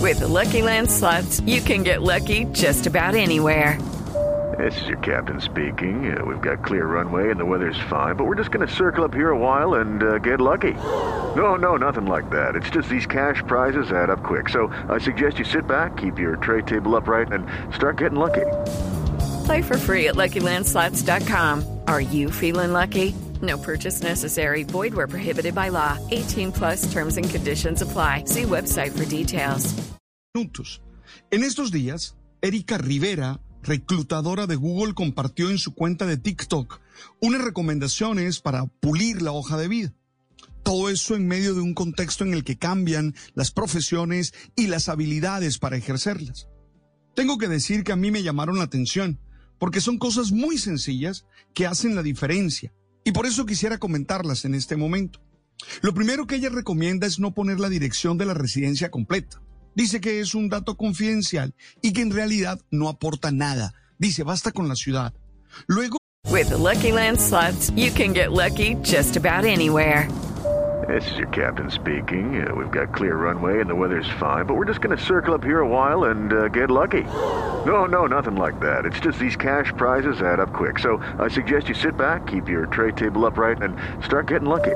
With the Lucky Land Slots, you can get lucky just about anywhere. This is your captain speaking. We've got clear runway and the weather's fine, but we're just going to circle up here a while and get lucky. No, nothing like that. It's just these cash prizes add up quick. So I suggest you sit back, keep your tray table upright, and start getting lucky. Play for free at LuckyLandSlots.com. Are you feeling lucky? No purchase necessary. Void where prohibited by law. 18 plus terms and conditions apply. See website for details. En estos días, Erika Rivera, reclutadora de Google, compartió en su cuenta de TikTok unas recomendaciones para pulir la hoja de vida. Todo eso en medio de un contexto en el que cambian las profesiones y las habilidades para ejercerlas. Tengo que decir que a mí me llamaron la atención, porque son cosas muy sencillas que hacen la diferencia, y por eso quisiera comentarlas en este momento. Lo primero que ella recomienda es no poner la dirección de la residencia completa. Dice que es un dato confidencial y que en realidad no aporta nada. Dice, basta con la ciudad. Luego, With the Lucky Land Slots, you can get lucky just about anywhere. This is your captain speaking. We've got clear runway and the weather's fine, but we're just going to circle up here a while and get lucky. No, nothing like that. It's just these cash prizes add up quick. So I suggest you sit back, keep your tray table upright, and start getting lucky.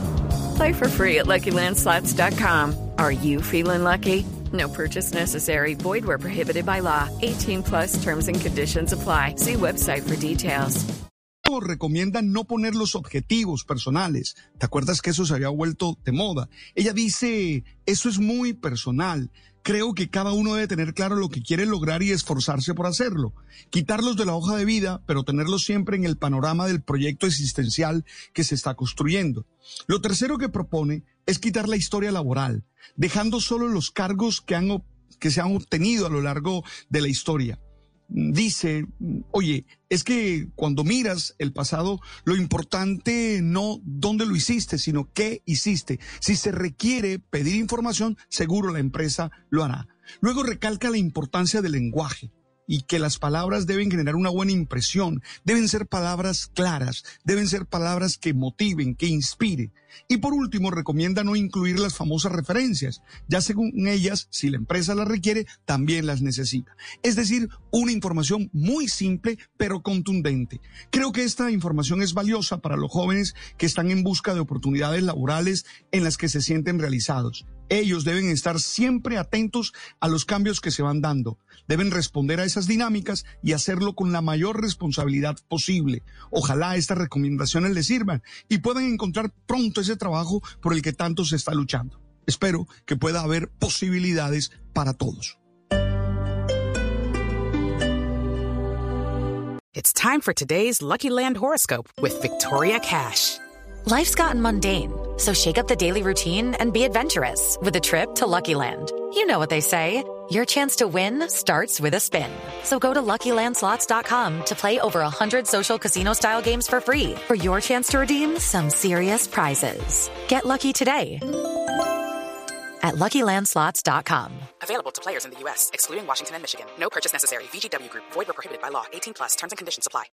Play for free at LuckyLandSlots.com. Are you feeling lucky? No purchase necessary. Void where prohibited by law. 18 plus terms and conditions apply. See website for details. recomienda no poner los objetivos personales. ¿Te acuerdas que eso se había vuelto de moda? Ella dice, eso es muy personal. Creo que cada uno debe tener claro lo que quiere lograr y esforzarse por hacerlo. Quitarlos de la hoja de vida, pero tenerlos siempre en el panorama del proyecto existencial que se está construyendo. Lo tercero que propone es quitar la historia laboral, dejando solo los cargos que se han obtenido a lo largo de la historia. Dice, oye, es que cuando miras el pasado, lo importante no dónde lo hiciste, sino qué hiciste. Si se requiere pedir información, seguro la empresa lo hará. Luego recalca la importancia del lenguaje y que las palabras deben generar una buena impresión, deben ser palabras claras, deben ser palabras que motiven, que inspiren. Y por último, recomienda no incluir las famosas referencias, ya según ellas, si la empresa las requiere, también las necesita. Es decir, una información muy simple, pero contundente. Creo que esta información es valiosa para los jóvenes que están en busca de oportunidades laborales en las que se sienten realizados. Ellos deben estar siempre atentos a los cambios que se van dando. Deben responder a esas dinámicas y hacerlo con la mayor responsabilidad posible. Ojalá estas recomendaciones les sirvan y puedan encontrar pronto ese trabajo por el que tanto se está luchando. Espero que pueda haber posibilidades para todos. It's time for today's Lucky Land horoscope with Victoria Cash. Life's gotten mundane, so shake up the daily routine and be adventurous with a trip to Lucky Land. You know what they say, your chance to win starts with a spin. So go to LuckyLandSlots.com to play over 100 social casino-style games for free for your chance to redeem some serious prizes. Get lucky today at LuckyLandSlots.com. Available to players in the U.S., excluding Washington and Michigan. No purchase necessary. VGW Group. Void where prohibited by law. 18 plus. Terms and conditions apply.